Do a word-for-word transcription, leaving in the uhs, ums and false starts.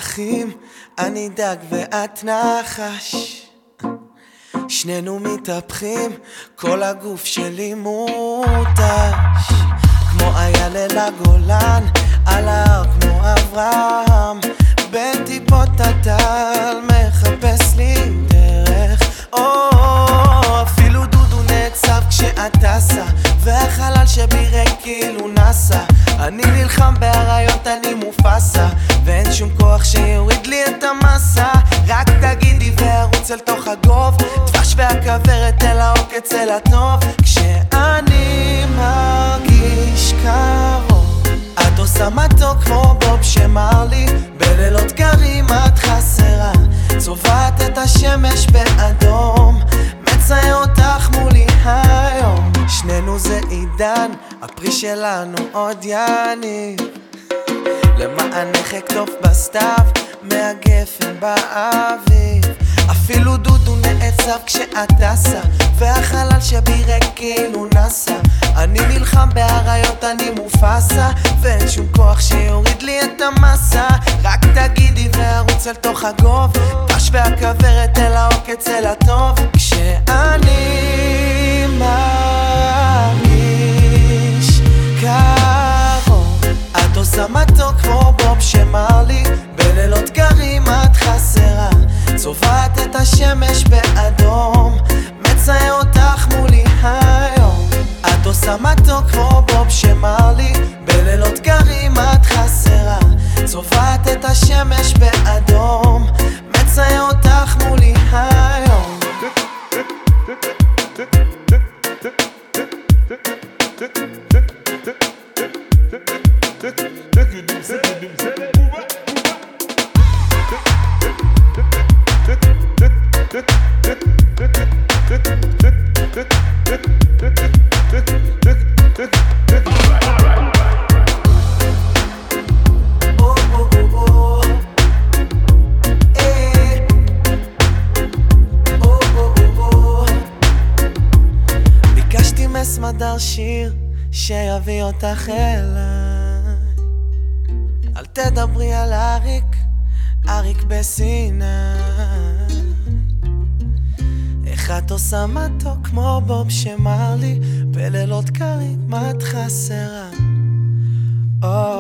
אחים, אני דג ואת נחש, שנינו מתהפכים, כל הגוף שלי מותש, כמו אייל הגולן, על ההר כמו אברהם, בין טיפות הטל מחפש לי דרך, או אפילו דודו נעצב כשאת טסה, והחלל שבי ריק כאילו נסה, אני נלחם בהריות, אני מופסה, ואין שום כוח שיוריד לי את המסה, רק תגידי וארוץ אל תוך הגוב, דבש והכוורת אל העוקץ אל הטוב, כשאני מרגיש קרוב את עושה מתוק כמו בוב שמרלי, בלילות קרים את חסרה, צובעת את השמש באדום, מצייר אותך מולי היום, שנינו זה עידן, הפרי שלנו עוד יניב, למענך אקטוף בסתיו, מהגפן באביב, אפילו דודו נעצב כשאת טסה, והחלל שבי ריק כאילו נסה, אני נלחם בהריות, אני מופסה, ואין שום כוח שיוריד לי את המסה, רק תגידי וארוץ אל תוך הגוב, דש והכוורת אל העוקץ אל הטוב, כשאני מרגיש קרוב את עושה מתוק כמו בוב שמרלי, בלילות קרים את חסרה, צובעת את השמש באדום, מצייר אותך מולי היום, את עושה מתוק כמו בוב שמרלי, בלילות קרים את חסרה, צובעת את השמש באדום, מצייר אותך מולי היום. ביקשתי מסמדר שיר שיביא אותך אליי, אל תדברי על אריק, אריק בסיני, איך את עושה מתוק כמו בוב שמרלי, בלילות קרים את חסרה, oh.